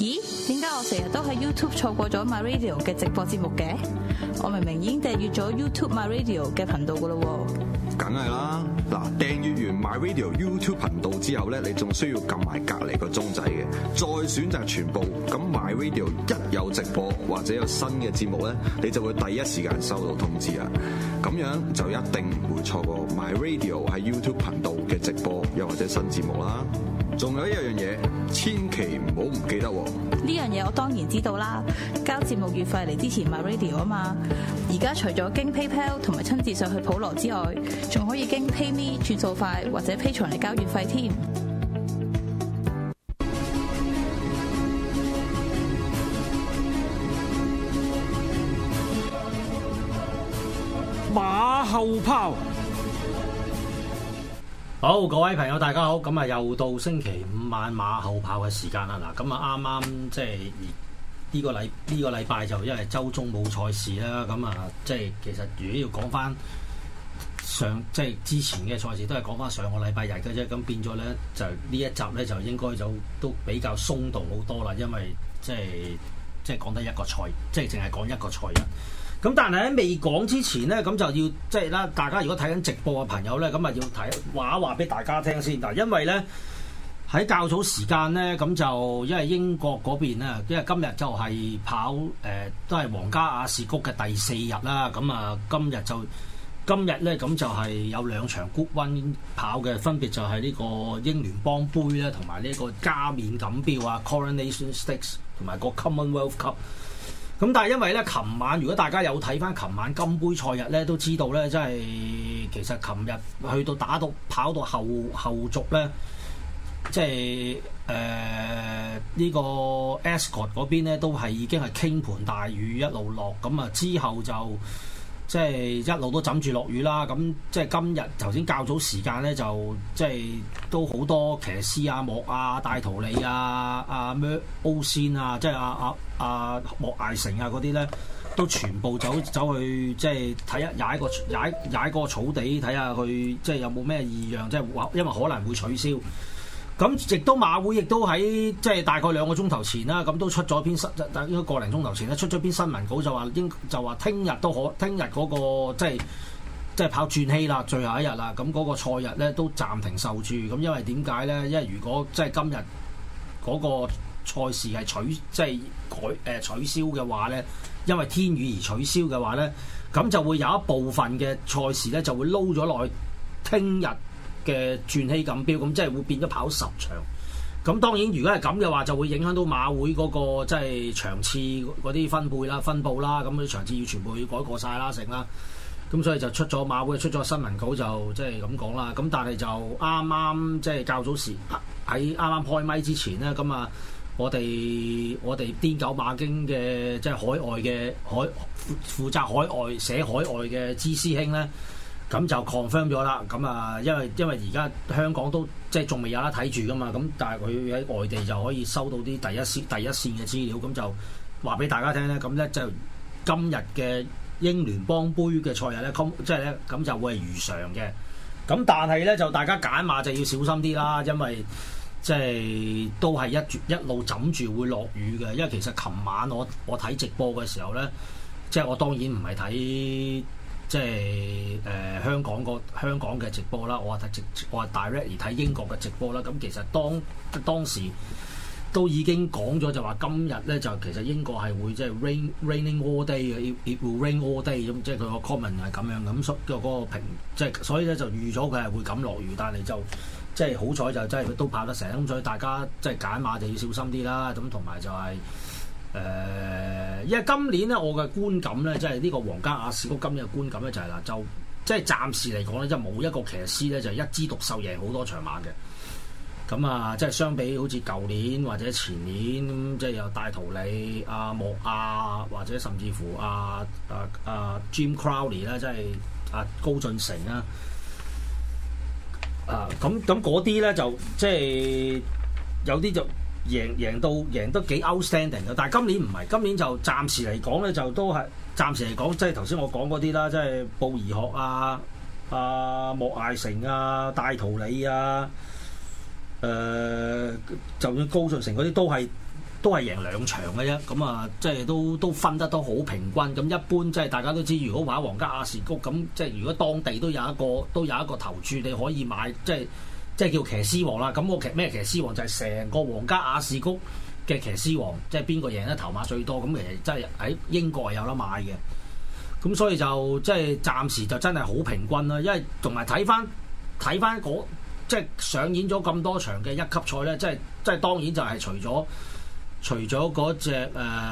咦？點解我成日都喺 YouTube 錯過咗 My Radio 嘅直播節目嘅？我明明已經訂閱咗 YouTube My Radio 嘅頻道噶咯喎。 梗係啦，嗱，訂閱完 My Radio YouTube 頻道之後咧，你仲需要撳埋隔離個鐘仔嘅，再選擇全部。咁 My Radio 一有直播或者有新嘅節目咧，你就會第一時間收到通知啊！咁樣就一定唔會錯過 My Radio 喺 YouTube 頻道嘅直播又或者新節目啦。仲有一樣嘢，千祈唔好唔記得喎！ 呢樣嘢我當然知道啦，交節目月費嚟支持 My Radio 啊嘛。而家除咗經 PayPal 同埋親自上去普羅之外，仲可以經 PayMe 轉數快或者 Patreon 嚟交月費添。 馬後炮。好，各位朋友大家好，咁啊又到星期五晚馬後炮嘅時間啦。嗱，咁啊啱啱即係呢個禮拜就因為週中冇賽事啦，咁啊即係其實如果要講翻即係之前嘅賽事，都係講翻上個禮拜日嘅啫。咁變咗咧，就呢一集咧就應該就都比較鬆動好多啦，因為即係講得一個賽，即係淨係講一個賽日。咁但係喺未講之前咧，咁就要即係啦，大家如果睇緊直播嘅朋友咧，咁啊要睇話俾大家聽先嗱，因為咧喺較早時間咧，咁就因為英國嗰邊咧，因為今日就係跑都係皇家亞士谷嘅第四日啦，咁啊今日咧咁就係有兩場 Group One 跑嘅，分別就係呢個英聯邦杯咧，同埋呢個加冕錦標啊 Coronation Stakes 同埋個 Commonwealth Cup。咁但係因為咧，琴晚如果大家有睇翻琴晚金杯賽日咧，都知道咧，即係其實琴日去到跑到後續咧，即係呢個 Ascot 嗰邊咧，都係已經係傾盆大雨一路落，咁啊之後就即係一路都枕住落雨啦。咁即係今日頭先較早時間咧，就即係都好多騎師啊、莫啊、戴圖利啊、阿咩歐仙啊，即係阿莫艾成啊嗰啲咧，都全部走去即係睇一踩個草地，睇下佢即係有冇咩異樣，即係因為可能會取消。咁亦都馬會亦都喺即係大概2個鐘頭前啦，咁都出咗篇應該個零鐘頭前咧，出咗篇新聞稿就話聽日嗰個即係跑轉禧啦，最後一日啦，咁嗰個賽日咧都暫停受注。咁因為點解咧？因為如果即係今日嗰個賽事係取消嘅話咧，因為天雨而取消嘅話咧，咁就會有一部分嘅賽事咧就會撈咗落去聽日嘅轉禧錦標，咁即係會變咗跑10場。咁當然如果係咁嘅話，就會影響到馬會嗰個即係場次嗰啲分佈啦，咁啲場次要全部要改過晒啦，成啦。咁所以就馬會出咗新聞稿，就即係咁講啦。咁但係就啱啱即係較早時喺啱啱開咪之前咧，咁啊我哋癲狗馬經嘅即係海外嘅負責寫海外嘅芝師兄咧，咁就 confirm 咗啦。咁啊，因為而家香港都即係仲未有得睇住噶嘛，咁但係佢喺外地就可以收到啲第一線嘅資料，咁就話俾大家聽咧。咁咧就今日嘅英聯邦杯嘅賽日咧，即係咧咁就會係如常嘅。咁但係咧就大家揀馬就要小心啲啦，因為即係都係一路枕住會落雨嘅。因為其實琴晚我睇直播嘅時候咧，即係我當然唔係睇即係香港嘅直播啦，我係 direct 而睇英國嘅直播啦。咁其實當時都已經講咗，就話今日咧就其實英國係會即係 raining all day 嘅，it will rain all day 咁，即係佢個 comment 係咁樣咁，嗰個評即係所以咧就預咗佢係會咁落雨，但係就即係好彩就真係都跑得成，咁所以大家即係揀馬就要小心啲啦。咁同埋就係因為今年咧我嘅觀感咧，即係呢個皇家亞士谷今年嘅觀感咧就係啦，就即係暫時嚟講咧，即係冇一個騎師咧就係一枝獨秀贏好多場馬嘅。咁啊，即係相比好似舊年或者前年咁，即係有戴圖理、阿莫亞或者甚至乎Jim Crowley 啦，即係高進成啦。咁嗰啲咧就即係有啲就贏得幾 outstanding 嘅，但係今年唔係，今年就暫時嚟講咧就都係暫時嚟講，即係頭先我講嗰啲啦，即係布宜學莫艾成戴圖理就算高順成嗰啲都係都係贏2場嘅啫。咁啊，即係都分得都好平均。咁一般即係大家都知，如果玩皇家亞士谷咁，即係如果當地都有一個投注，你可以買，即係叫騎師王啦。咁我咩騎師王就係成個皇家亞士谷嘅騎師王，即係邊個贏得頭馬最多？咁其實真係喺英國係有得買嘅。咁所以就即係暫時就真係好平均啦。因為同埋睇翻即係上演咗咁多場嘅一級賽咧，即係當然就係除咗嗰隻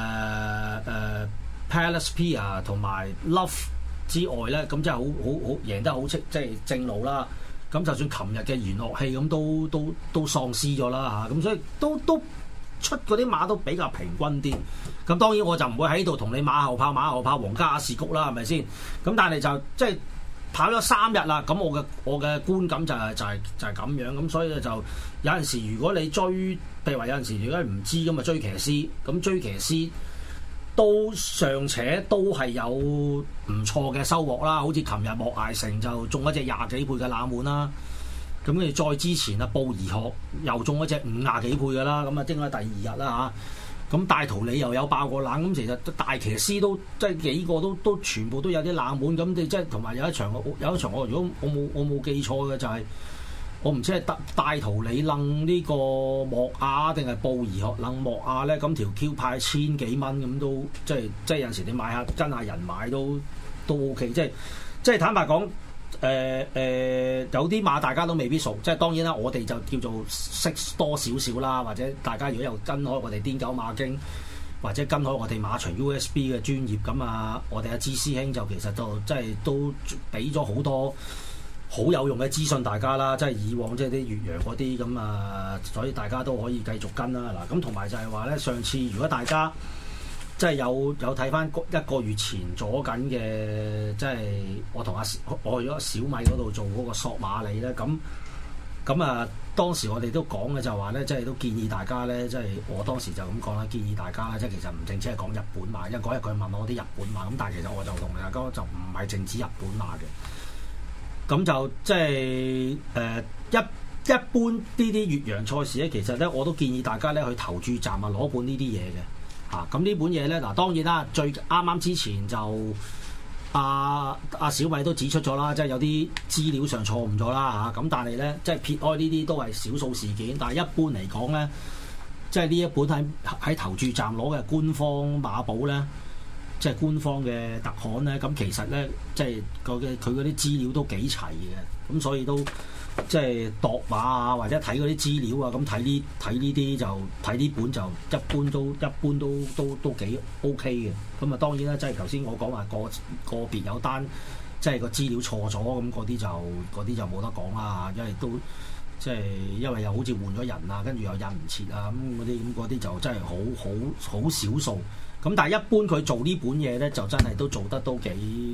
Palace Pier 同埋 Love 之外咧，咁即係好贏得好即係正路啦。咁就算琴日嘅娛樂器咁都喪屍咗啦嚇，咁所以都出嗰啲馬都比較平均啲。咁當然我就唔會喺度同你馬後炮皇家亞士谷啦，係咪先？咁但係就即係跑咗3日啦，咁我嘅觀感就係咁樣。咁所以就有陣時如果你追，譬如話有陣時如果唔知咁啊追騎師，咁追騎師都尚且都係有唔錯嘅收穫啦。好似琴日莫艾成就中一隻20幾倍嘅冷門啦。咁跟住再之前啊，布宜學又中一隻50幾倍嘅啦。咁啊，應該第2日啦嚇。咁大圖你又有爆過冷，咁其實大騎師都即係幾個都全部都有啲冷門。咁你即係同埋有一場我如果我冇記錯嘅就係、是、我唔知係大圖你楞呢個莫亞定係布宜學楞莫亞咧，咁條 Q 派1000幾蚊咁都即係有陣時你買下跟下人買都 OK。即係坦白講。有啲馬大家都未必熟，即係當然啦，我哋就叫做識多少少啦，或者大家如果有跟開我哋癲狗馬經，或者跟開我哋馬場 USB 嘅專業咁啊，我哋阿芝師兄就其實就即係都俾咗好多好有用嘅資訊大家啦，即係以往即係啲越洋嗰啲咁啊，所以大家都可以繼續跟啦。嗱，咁同埋就係話咧，上次如果大家即係有睇翻1個月前咗緊嘅，即係我去咗小米嗰度做嗰個索馬里咧，咁啊當時我哋都講嘅就話咧，即係都建議大家咧，即係我當時就咁講啦，建議大家即係其實唔淨止係講日本馬，因為嗰日佢問我啲日本馬，咁但係其實我就同大家講就唔係淨止日本馬嘅，咁就即係一般呢啲越洋賽事咧，其實咧我都建議大家咧去投注站攞本呢啲嘢嘅。咁呢本嘢咧，嗱當然啦，最啱之前就阿小米都指出咗啦，即係有啲資料上錯誤咗啦嚇。咁但係咧，即係撇開呢啲都係少數事件，但係一般嚟講咧，即係呢一本喺投注站攞嘅官方馬寶咧，即係官方嘅特刊咧，咁其實咧，即係佢嗰啲資料都幾齊嘅，咁所以都。即係度馬啊，或者睇嗰啲資料啊，咁睇呢啲就睇呢本就一般都幾 OK 嘅。咁啊當然啦，即係頭先我講話個別有單即係個資料錯咗，咁嗰啲就冇得講啦，因為都即係因為又好似換咗人啊，跟住又印唔切啊，咁嗰啲就真係好少數。咁但係一般佢做呢本嘢咧，就真係都做得都幾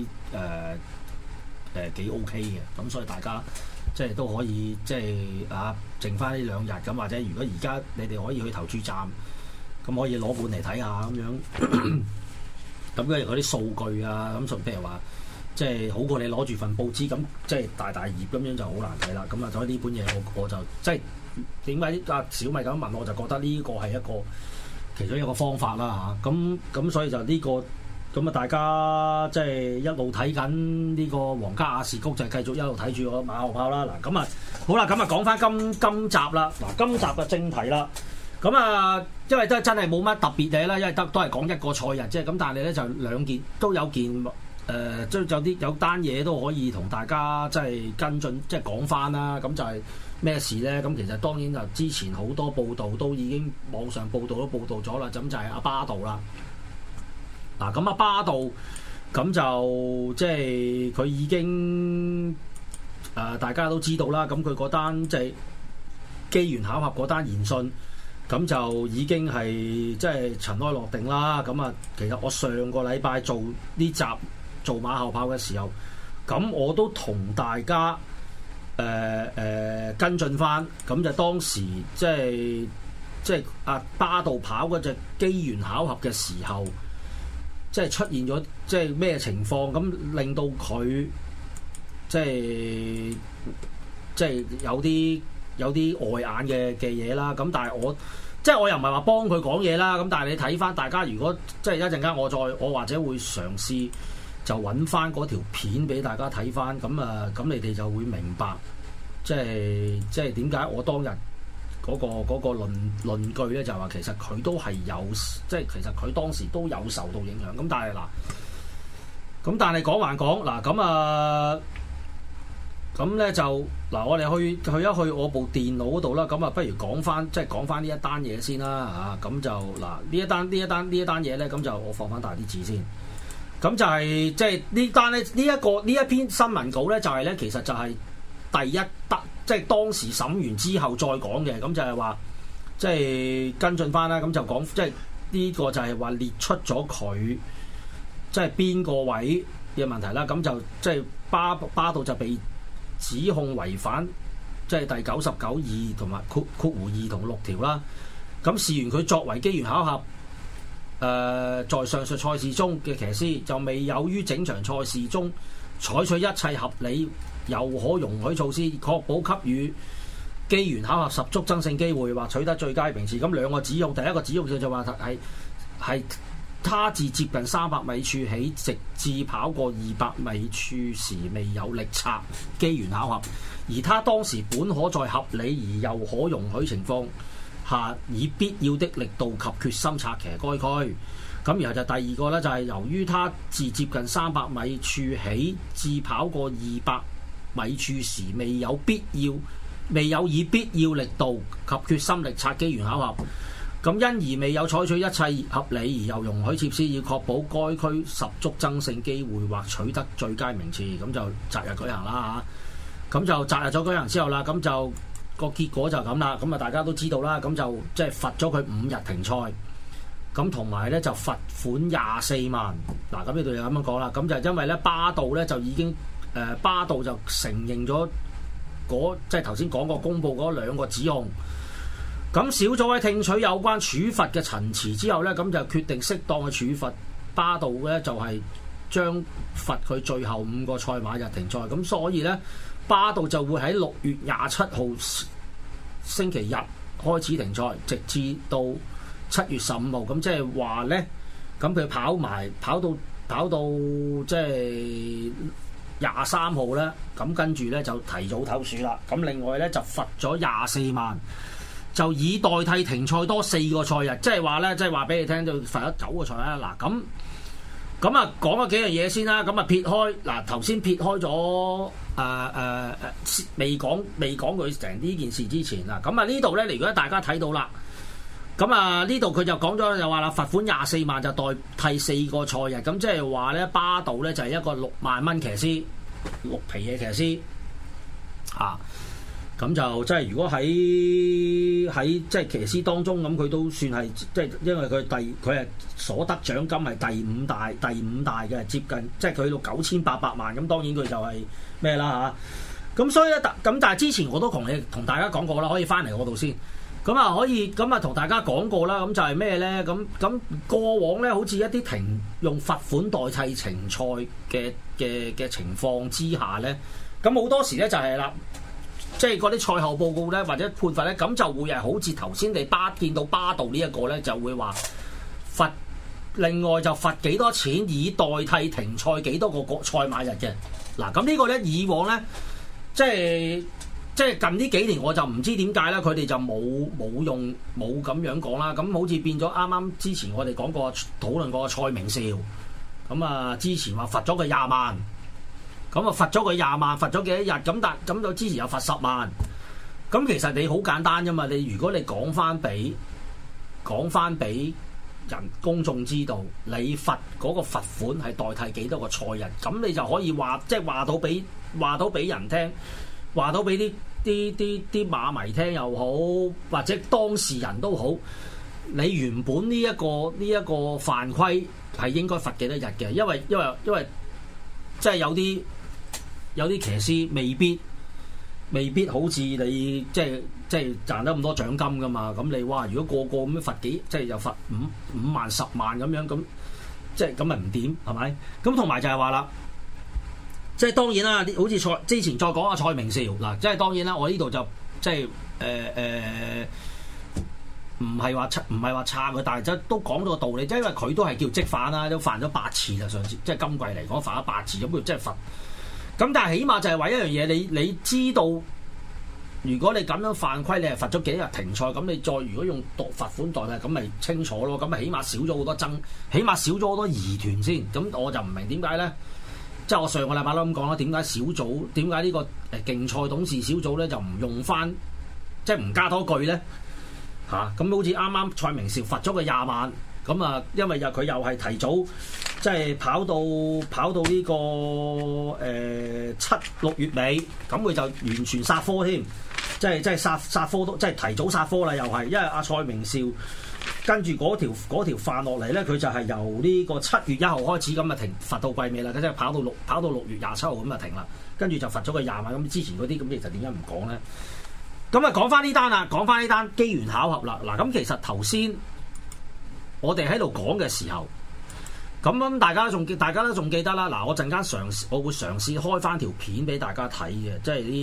OK 嘅。咁所以大家。即係都可以，即係剩翻呢2日咁，或者如果而家你哋可以去投注站，咁可以攞本嚟睇下咁樣。咁跟住嗰啲數據啊，咁譬如話，即係好過你攞住份報紙咁，即係大頁咁樣就好難睇啦。咁啊，所以呢本嘢我就即係點解小米咁問我就覺得呢個係一個其中一個方法啦嚇。咁所以就呢個。咁啊，大家即係一路睇緊呢個皇家亞士谷，就繼續一路睇住個馬後炮啦。嗱，咁啊，好啦，咁啊講翻今集啦。嗱，今集嘅正題啦。咁啊，因為都真係冇乜特別嘢啦，因為都係講一個賽日啫。咁但係咧就2件都有件即有單嘢都可以同大家即係跟進，即係講翻啦。咁就係咩事咧？咁其實當然就之前好多報道都已經網上報道都報道咗啦。咁就係阿巴道啦。嗱，咁阿巴道咁就即係佢已經大家都知道啦。咁佢嗰單即係機緣巧合嗰單言訊，咁就已經係即係塵埃落定啦。咁啊，其實我上個禮拜做呢集做馬後炮嘅時候，咁我都同大家跟進翻。咁就當時即係阿巴道跑嗰隻機緣巧合嘅時候。即係出現咗，即係咩情況咁令到佢即係有啲礙眼嘅嘢啦。咁但係我即係我又唔係話幫佢講嘢啦。咁但係你睇翻大家，如果即係一陣間我或者會嘗試就揾翻嗰條片俾大家睇翻。咁你哋就會明白，即係點解我當日嗰個論據咧，就話其實佢都係有，即係其實佢當時都有受到影響。咁但係講還講嗱，咁咧就嗱，我哋去一去我部電腦嗰度啦。咁不如講翻呢一單嘢先啦嚇。咁就嗱，呢一單嘢咧，咁就我放翻大啲字先。咁就係即係呢單咧，呢一篇新聞稿咧，就係咧，其實就係第一單，即係當時審完之後再講嘅。咁就係話，即係跟進翻啦。咁就講，即係呢個就係話列出咗佢即係邊個位嘅問題啦。咁就即係巴道就被指控違反即係第99(2)同埋括弧2同6條啦。咁事緣佢作為機緣巧合，在上述賽事中嘅騎師就未有於整場賽事中採取一切合理又可容許措施，確保給予機緣巧合十足爭勝機會或取得最佳名次。咁兩個指控，第一個指控就話係他自接近300米處起，直至跑過200米處時未有力策，機緣巧合。而他當時本可在合理而又可容許情況下，以必要的力度及決心策騎該區。咁然後就第二個咧，就係由於他自接近300米處起至跑過200米處時未有以必要力度及決心力策，機緣巧合。咁因而未有採取一切合理而又容許設施，以確保該區十足爭勝機會或取得最佳名次。咁就擇日舉行啦嚇。咁就擇日咗舉行之後啦，咁就個結果就咁啦。咁大家都知道啦。咁就即係罰咗佢5日停賽。咁同埋咧就罰款24萬。嗱，咁呢度就咁樣講啦。咁就因為咧巴道咧就已經巴道就承認咗即係頭先講過公佈嗰2個指控。咁小組喺聽取有關處罰嘅陳詞之後咧，咁就決定適當嘅處罰巴道咧，就係將罰佢最後5個賽馬日停賽。咁所以咧，巴道就會喺6月27號星期日開始停賽，直至到7月15號。咁即係話咧，咁佢跑到即係23號咧，咁跟住咧就提早唞暑啦。咁另外咧就罰咗24萬。就以代替停賽多4個賽日，即係話咧，即係話俾你聽，就罰咗9個賽啦。嗱，咁啊講咗幾樣嘢先啦。咁啊撇開嗱，頭先撇開咗未講佢成呢件事之前啊，咁啊呢度咧，如果大家睇到啦，咁啊呢度佢就講咗就話啦，罰款24萬就代替4個賽日，咁即係話咧巴道咧就係一個6萬蚊騎師，6皮嘢騎師啊。咁就即係如果喺即係騎師當中，咁佢都算係即係，因為佢係所得獎金係第五大嘅，接近即係佢到9800萬。咁當然佢就係咩啦嚇。咁所以咧，咁但係之前我都同大家講過啦，可以翻嚟我度先。咁啊可以咁啊同大家講過啦。咁就係咩咧？咁過往咧，好似一啲用罰款代替停賽嘅情況之下咧，咁好多時咧就係啦。即係嗰啲賽後報告咧，或者判罰咧，咁就會係好似頭先你見到巴道呢一個咧，就會話罰，另外就罰幾多錢以代替停賽幾多個賽馬日嘅。嗱，咁呢個咧以往咧，即係近呢幾年我就唔知點解啦，佢哋就冇咁樣講啦。咁好似變咗啱啱之前我哋討論過蔡明紹，咁啊之前話罰咗佢20萬。咁啊罰咗佢20萬，罰咗幾多日？咁就之前又罰10萬。咁其實你好簡單啫嘛。如果你講翻俾公眾知道，你罰嗰個罰款係代替幾多個賽日，咁你就可以話到俾人聽，話到俾啲馬迷聽又好，或者當事人都好。你原本呢一個犯規係應該罰幾多日嘅？因為即係有啲騎師未必好似你即係賺得咁多獎金噶嘛。咁你哇，如果個咁樣罰即係又罰5萬10萬咁樣，咁即係咁咪唔掂係咪？咁同埋就係話啦，即係當然啦，好似之前再講蔡明紹嗱，即係當然啦，我呢度就即係唔係話差佢，但係即都講咗個道理，即係因為佢都係叫積犯啦，都犯咗8次啦，上次即係今季嚟講犯咗8次，咁佢即係罰。咁但係起碼就係話一樣嘢，你知道，如果你咁樣犯規，你係罰咗幾日停賽，咁你再如果用罰款代替，咁咪清楚咯，咁咪起碼少咗好多起碼少咗好多疑團先。咁我就唔明點解咧，即係我上個禮拜都咁講啦，點解呢個競賽董事小組咧就唔用翻，即係唔加多句咧嚇？咁好似啱啱蔡明紹罰咗佢20萬。咁啊，因為佢又係提早，即係跑到呢個6月尾，咁佢就完全殺科添，即係殺科都即係提早殺科啦，又係，因為阿蔡明紹跟住嗰條犯落嚟咧，佢就係由呢個7月1號開始咁啊停罰到季尾啦，即係跑到6月27號咁啊停啦，跟住就罰咗佢20萬。咁之前嗰啲咁其實點解唔講咧？咁啊講翻呢單啦，講翻呢單機緣巧合啦。嗱，咁其實頭先我哋喺度講嘅時候，咁大家都仲記得啦。嗱，我陣間我會嘗試開翻條片俾大家睇嘅，即係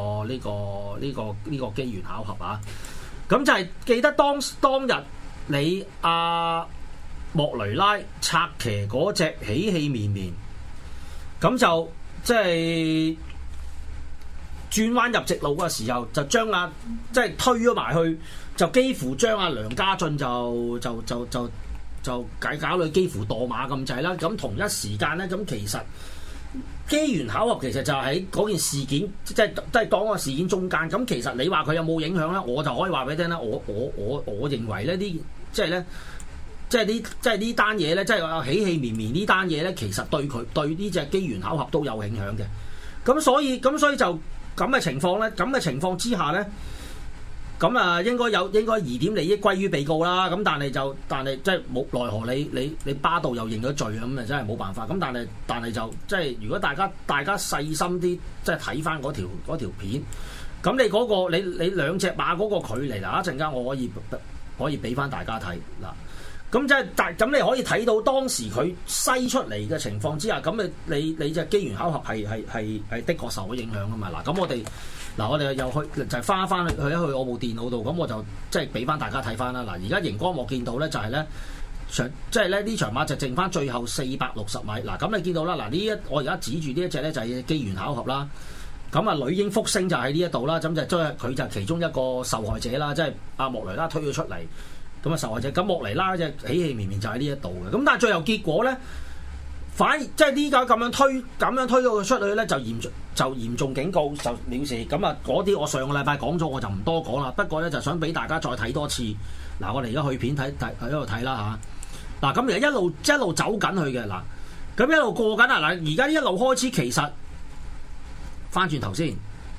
呢個機緣巧合啊。咁就係記得當日你莫雷拉策騎嗰隻喜氣綿綿，咁就即係轉彎入直路嘅時候，就將即係推咗埋去。就幾乎將梁家俊就搞到幾乎墮馬咁滯啦。咁同一時間咧，咁其實機緣巧合其實就喺嗰件事件，即係當個事件中間。咁其實你話佢有冇影響咧？我就可以話俾你聽啦。我認為咧，即係呢單嘢咧，即係喜氣綿綿呢單嘢咧，其實對呢隻機緣巧合都有影響嘅。咁所以就咁嘅情況咧，咁嘅情況之下咧。咁啊，應該疑點利益歸於被告啦。咁但係即係冇奈何你巴道又認咗罪，咁啊真係冇辦法。咁但係就即係如果大家細心啲，即係睇翻嗰條片，咁你嗰個你兩隻馬嗰個距離嗱，一陣間我可以俾翻大家睇嗱。咁即係咁你可以睇到當時佢篩出嚟嘅情況之下，咁你隻機緣巧合係的確受咗影響啊嘛。嗱，咁我哋又去就係翻去我部電腦度，咁我就即係俾翻大家睇翻啦。嗱，而家熒光幕見到咧就係咧，即係咧呢場馬就剩翻最後460米。嗱，咁你見到啦，嗱我而家指住呢一隻咧就係機緣巧合啦。咁啊，女英福星就喺呢一度啦，咁就將佢就其中一個受害者啦，即係阿莫雷拉推咗出嚟，咁啊受害者。咁莫雷拉隻喜氣綿綿就喺呢一度嘅。咁但係最後結果咧，反而即係呢家咁樣推到佢出去咧，就嚴重警告，就藐視。咁啊，嗰啲我上個禮拜講咗，我就唔多講啦。不過咧，就想俾大家再睇多次。嗱，我哋而家去片睇喺度睇啦嚇。嗱，咁而家一路走緊去嘅嗱，咁一路過緊啊嗱。而家一路開始其實翻轉頭先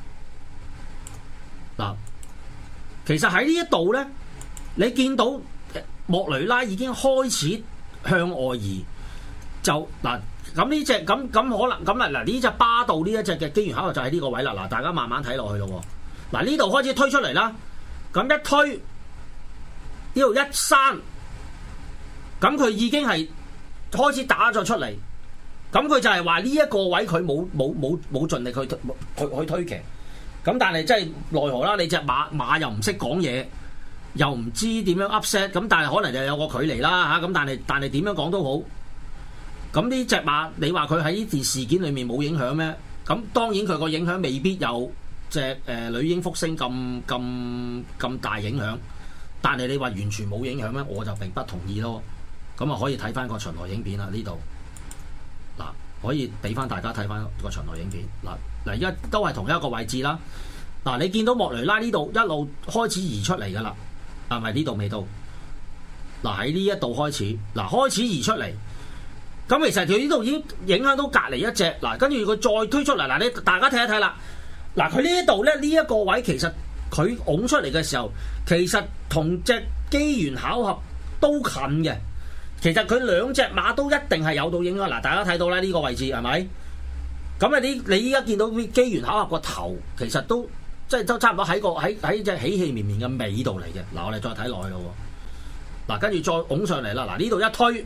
嗱，其實喺呢一度咧，你見到莫雷拉已經開始向外移，就嗱。咁呢隻咁可能咁啊嗱，呢隻巴道呢一隻嘅機緣巧合就喺呢個位啦。嗱，大家慢慢睇落去咯。嗱，呢度開始推出嚟啦，咁一推呢度一閂，咁佢已經係開始打咗出嚟。咁佢就係話呢一個位佢冇盡力去推騎。咁但係即係奈何啦，你隻馬又唔識講嘢，又唔知點樣 upset。咁但係可能就有個距離啦嚇。咁但係點樣講都好。咁呢隻馬，你話佢喺呢件事件裏面冇影響咩？咁當然佢個影響未必有隻女英福星咁大影響，但係你話完全冇影響咩？我就並不同意咯。咁啊可以睇翻個巡邏影片啦，呢度嗱可以俾翻大家睇翻個巡邏影片嗱，而家都係同一個位置啦。嗱，你見到莫雷拉呢度一路開始移出嚟噶啦，係咪呢度未到？嗱，喺呢一度開始，嗱開始移出嚟。咁其實佢呢度已經影響到隔離一隻，嗱跟住佢再推出嚟，嗱你大家睇一睇啦，嗱佢呢一度咧呢一個位其實佢拱出嚟嘅時候，其實同隻機緣巧合都近嘅，其實佢兩隻馬都一定係有到影響，嗱大家睇到啦呢個位置係咪？咁啊你依家見到機緣巧合個頭，其實都即係都差唔多喺隻喜氣綿綿嘅尾度嚟嘅，嗱我哋再睇落去咯，嗱跟住再拱上嚟啦，嗱呢度一推。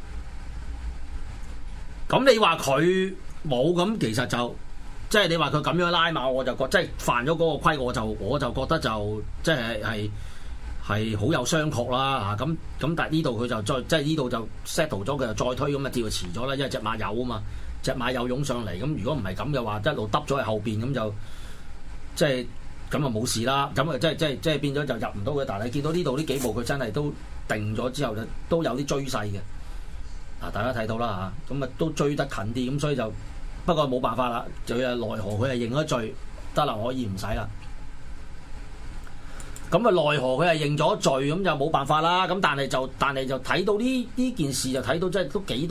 咁你話佢冇咁，其實就即係你話佢咁樣拉馬，我就覺即係犯咗嗰個規，我就覺得就即係係好有商榷啦嚇。咁但係呢度佢就再即係呢度就 settle 咗，佢就再推咁啊，叫佢遲咗啦，因為隻馬有啊嘛，隻馬有湧上嚟。咁如果唔係咁嘅話，一路揼咗喺後邊咁就即係咁啊冇事啦。咁啊即係變咗就入唔到嘅。但係你見到呢度呢幾步佢真係都定咗之後就都有啲追勢嘅。嗱，大家睇到啦嚇，咁啊都追得近啲，咁所以就不過冇辦法啦，就係奈何佢係認咗罪，得啦，可以唔使啦。咁啊奈何佢係認咗罪，咁就冇辦法啦。咁但係就睇到呢件事就睇到即係都幾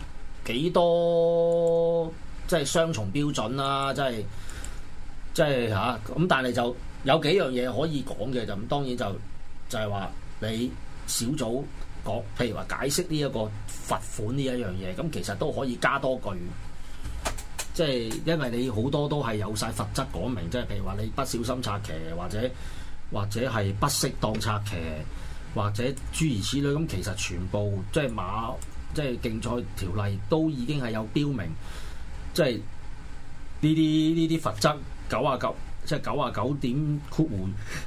多即係雙重標準啦，即係嚇。咁但係就有幾樣嘢可以講嘅，就咁當然就係話你小組講，譬如話解釋呢一個罰款呢一樣嘢，咁其實都可以加多句，即係因為你好多都係有晒罰則講明，即係譬如話你不小心策騎，或者係不適當策騎，或者諸如此類，咁其實全部即係競賽條例都已經係有標明，即係呢啲罰則99，即係99點括弧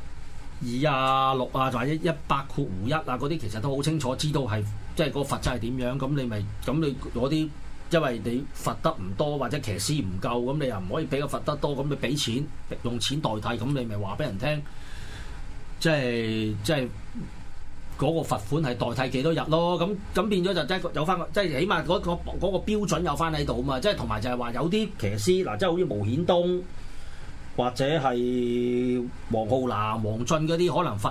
2啊6啊或者100括弧1啊嗰啲，其實都好清楚知道係即係嗰個罰則係點樣。咁你攞啲，因為你罰得唔多或者騎師唔夠，咁你又唔可以俾個罰得多，咁你俾錢用錢代替，咁你咪話俾人聽，即係嗰個罰款係代替幾多日咯。咁變咗就即係有翻，即係起碼嗰個標準有翻喺度啊嘛。即係同埋就係話有啲騎師嗱，即係好似毛顯東或者係黃浩南、黃俊嗰啲，可能罰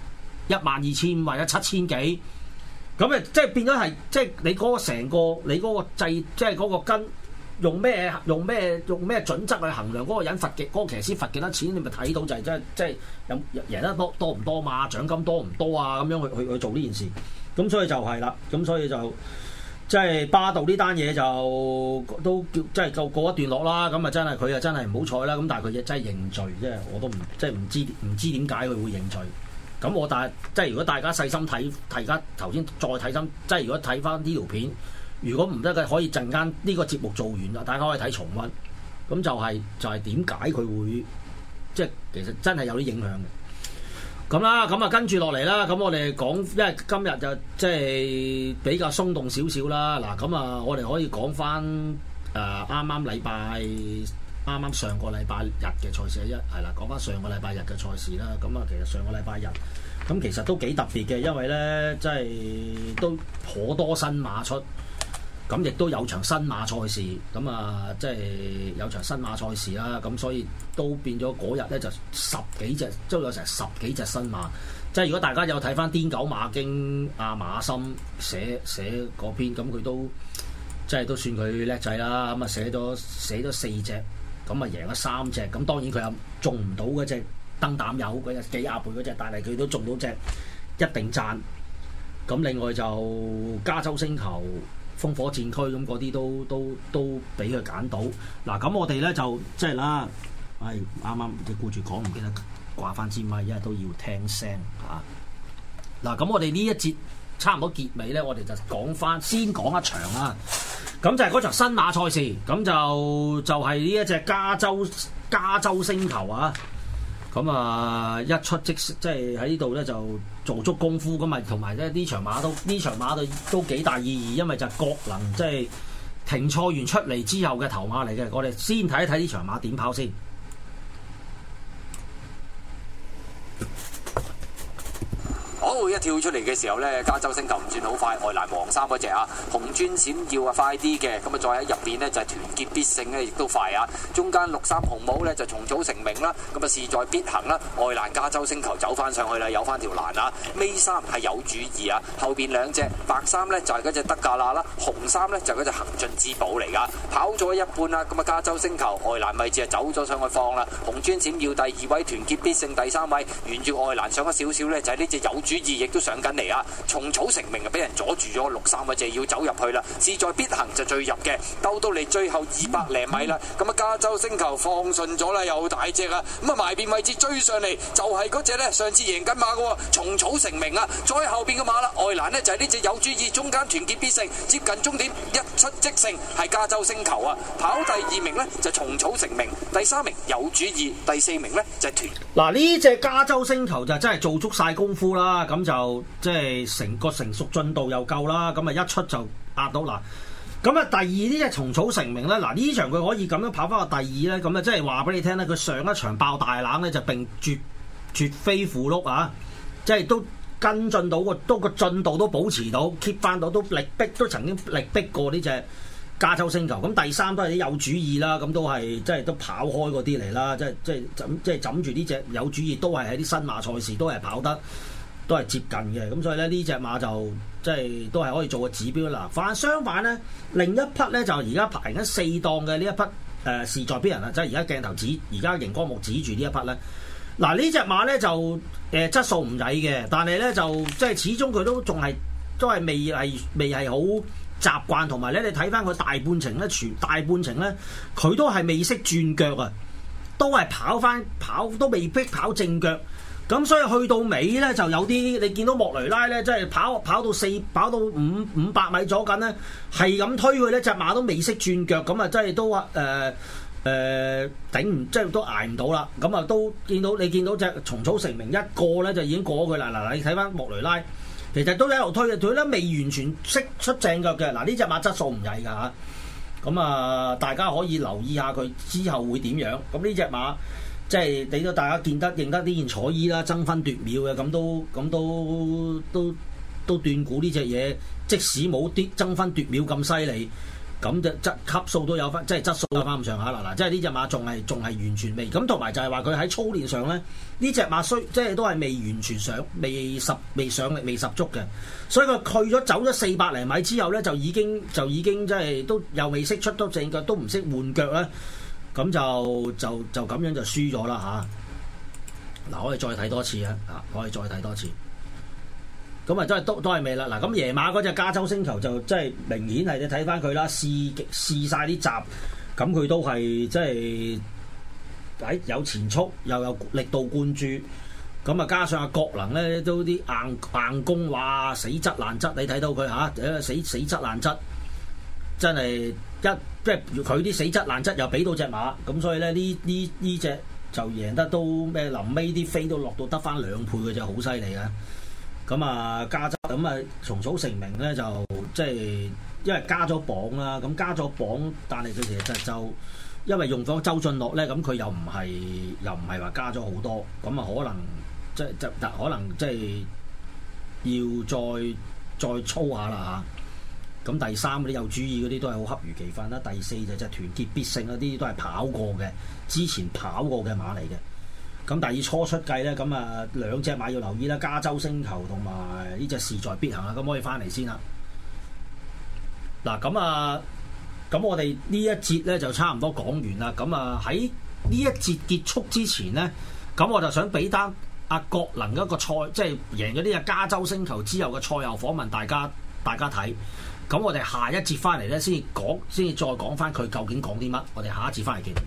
12500或者7000幾，咁誒即係變咗係即係你嗰個成個你嗰個制，即係嗰個跟用咩準則去衡量嗰個人罰嘅嗰個騎師罰幾多錢，你咪睇到就係即係有贏得多唔多嘛，獎金多唔多啊，咁樣去做呢件事。咁所以就係啦，咁所以就即係巴道呢單嘢就都叫即係告一段落啦。咁啊真係佢啊真係唔好彩啦。咁但係佢真係認罪，即係我都唔知點解佢會認罪。咁但係即係如果大家細心睇，而家頭先再睇心，即係如果睇翻呢條片，如果唔得嘅可以陣間呢個節目做完啦，大家可以睇重溫。咁就係點解佢會即係其實真係有啲影響嘅。咁啦，咁啊跟住落嚟啦，咁我哋講，因為今日就即係比較鬆動少少啦。嗱，咁啊，我哋可以講翻啱啱上個禮拜日嘅賽事係啦，講翻上個禮拜日嘅賽事啦。咁啊，其實上個禮拜日咁其實都幾特別嘅，因為咧即係都頗多新馬出。咁亦都有場新馬賽事，咁啊，即係有場新馬賽事啦，咁所以都變咗嗰日咧就10幾隻，都有成10幾隻新馬。即係如果大家有睇翻《癲狗馬經》阿馬森寫嗰篇，咁佢都即係都算佢叻仔啦。咁啊寫咗4隻，咁啊贏咗3隻。咁當然佢又中唔到嗰隻燈膽友嗰隻幾廿倍嗰隻，但係佢都中到隻，一定讚。咁另外就加州星球、烽火戰區咁嗰啲都俾佢揀到。嗱，咁我哋咧就即係啦，啱啱你顧住講唔記得掛翻支咪，因為都要聽聲嚇。嗱，咁我哋呢一節差唔多結尾咧，我哋就先講一場啦。咁就係嗰場新馬賽事，咁就係呢一隻加州星球啊。咁啊，一出即係喺呢度咧就做足功夫咁啊，同埋咧呢場馬都幾大意義，因為就係國能即係停賽完出嚟之後嘅頭馬嚟嘅。我哋先睇一睇呢場馬點跑先。 好，一跳出嚟嘅時候咧，加州星球唔算好快，外欄黃衫嗰隻啊，紅磚閃耀啊快啲嘅，咁啊再喺入邊呢，就係團結必勝咧，亦都快啊！中間綠衫紅帽咧就重組成名啦，咁啊勢在必行啦，外欄加州星球走翻上去啦，有翻條欄啊，尾衫係有主意啊，後邊兩隻白衫咧就係嗰隻德加納啦，紅衫咧就係嗰隻行進之寶嚟噶，跑咗一半啦，咁啊加州星球外欄位置啊走咗上去放啦，紅磚閃耀第2位，團結必勝第3位，沿住外欄上咗少少咧就係呢隻有主意，亦都都上緊嚟啊！蟲草成名啊，俾人阻住咗63嗰隻要走入去啦，勢在必行就最入嘅，鬥到嚟最後200零米啦，咁啊加州星球放順咗啦，又大隻啊，咁啊埋邊位置追上嚟就係嗰隻呢，上次贏緊馬嘅喎，蟲草成名啊，再後邊嘅馬啦，外欄呢就係呢隻有主意，中間團結必勝，接近終點一出即勝，係加州星球啊，跑第2名呢就蟲草成名，第3名有主意，第4名呢就係團。 嗱呢隻加州星球就真係做足晒功夫啦，咁就即係成個成熟進度又夠啦，咁啊一出就壓到嗱。咁啊，第二呢隻蟲草成名咧，嗱呢場佢可以咁樣跑翻個第2咧，咁啊即係話俾你聽咧，佢上一場爆大冷咧就並絕非符碌啊，即係都跟進到個進度都保持到 keep 翻到，都力逼都曾經力逼過呢隻加州星球。咁第3都係啲有主意啦，咁都係即係都跑開嗰啲嚟啦，即係枕住呢隻有主意都係喺啲新馬賽事都係跑得都係接近嘅，咁所以咧呢隻馬就即係都係可以做個指標啦。相反咧，另一匹咧就而家排緊4檔嘅呢一匹勢在必行啦，即係而家鏡頭指而家熒光幕指住呢一匹咧。嗱呢隻馬咧就質素唔曳嘅，但係咧就即係始終佢都未係好習慣，同埋咧你睇翻佢大半程咧，佢都係未識轉腳啊，都係跑都未必跑正腳。咁所以去到尾咧就有啲你見到莫雷拉咧，即係跑到500米左近咧，係咁推佢咧，隻馬都未識轉腳，咁啊真係都頂唔即係都捱唔到啦。咁啊都見到隻蟲草成名一個咧就已經過佢啦。嗱你睇翻莫雷拉，其實都一路推嘅，佢咧未完全識出正腳嘅。嗱呢隻馬質素唔曳㗎嚇，咁啊大家可以留意下佢之後會點樣。咁呢隻馬。即係俾到大家認得呢件彩衣啦，爭分奪秒嘅，咁都斷估呢隻嘢，即使冇啲爭分奪秒咁犀利，咁就級數都有翻，即係質素有翻咁上下啦。嗱，即係呢隻馬仲係完全未咁，同埋就係話佢喺操練上咧，呢隻馬即係都係未完全未上力未十足嘅，所以佢走咗400零米之後咧，就已經即係都又未識出到正腳，都唔識換腳咧。咁就咁樣就輸咗啦嚇！嗱，可以再睇多次啊！可以再睇多次。咁啊，都係未啦。嗱，咁夜馬嗰隻加州星球就即係明顯係你睇翻佢啦，試晒啲閘，咁佢都係即係有前速，又有力度灌注。咁啊，加上阿國能咧都啲硬攻，哇！死質爛質，你睇到佢嚇，死質爛質，真係即係佢啲死質爛質又俾到隻馬，咁所以咧呢隻就贏得都咩？臨尾啲飛都落到得翻2倍嘅，就好犀利啊！咁啊加州咁啊蟲草成名咧就即係因為加咗磅啦，咁加咗磅，但係佢其實就因為用咗周俊樂咧，咁佢又唔係話加咗好多，咁啊可能即係要再操下啦嚇。咁第3嗰啲有主意嗰啲都係好恰如其分啦，第4就係團結必勝嗰啲都係跑過嘅，之前跑過嘅馬嚟嘅。咁第2初出計咧，咁啊2隻馬要留意啦，加州星球同埋呢隻勢在必行啦，咁可以翻嚟先啦。嗱，咁我哋呢一節咧就差唔多講完啦。咁啊喺呢一節結束之前咧，咁我就想俾單阿國能一個賽，即係贏咗呢隻加州星球之後嘅賽後訪問，大家睇。咁我哋下一節翻嚟咧，先至再講翻佢究竟講啲乜。我哋下一節翻嚟見。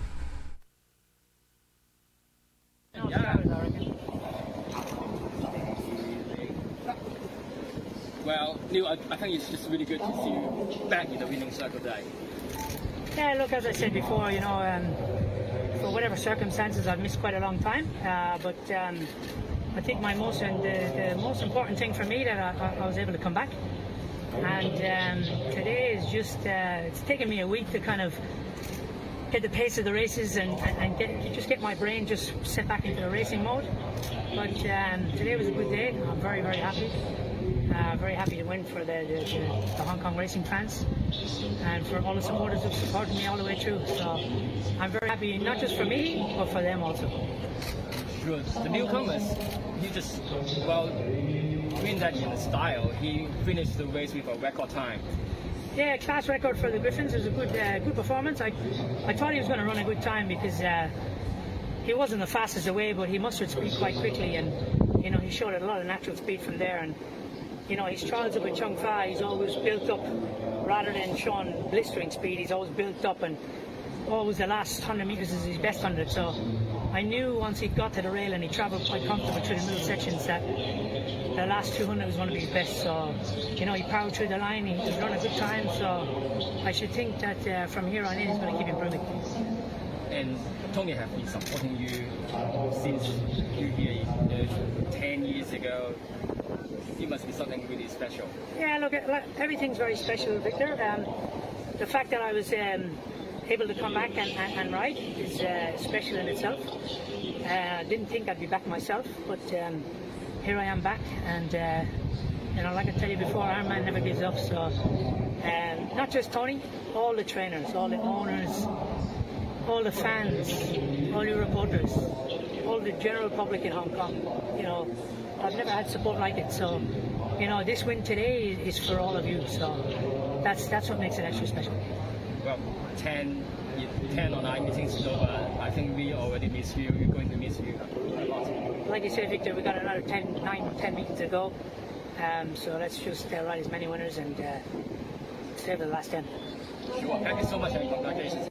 Well, Neil, I think it's just really good to see you back in the winning circle today. Yeah, look, as I said before, for whatever circumstances, I've missed quite a long time. But I think the most important thing for me that I was able to come back. And today is just, it's taken me a week to kind of get the pace of the races and get my brain just set back into the racing mode. But today was a good day. I'm very, very happy. Very happy to win for the Hong Kong racing fans and for all the supporters who've supported me all the way through. So I'm very happy, not just for me, but for them also. Good. The newcomers, doing that in style. He finished the race with a record time. Yeah, class record for the Griffins. It was a good performance. I thought he was going to run a good time because he wasn't the fastest away, but he mustered speed quite quickly, and he he showed a lot of natural speed from there. And you know, his trials up at Chung Fa, he's always built up rather than showing blistering speed. He's always built up, and always the last 100 metres is his best 100. So I knew once he got to the rail and he travelled quite comfortable through the middle sections that the last 200 was going to be his best. So, you know, he powered through the line, he was running a good time. So I should think that from here on in he's going to keep improving. And Tony have been supporting you since you here 10 years ago. It must be something really special. Yeah, look, everything's very special, Victor. The fact that I was able to come back and ride is special in itself. Didn't think I'd be back myself, but here I am back, and you know, like I tell you before, Ironman never gives up. So not just Tony, all the trainers, all the owners, all the fans, all the reporters, all the general public in Hong Kong. You know, I've never had support like it. So, you know, this win today is for all of you. So that's what makes it extra special. Well, 10 or 9 meetings is over. I think we already miss you. We're going to miss you a lot. Like you said, Victor, we got another 9-10 meetings to go. So let's just ride as many winners and save the last 10. Sure. Thank you so much and congratulations.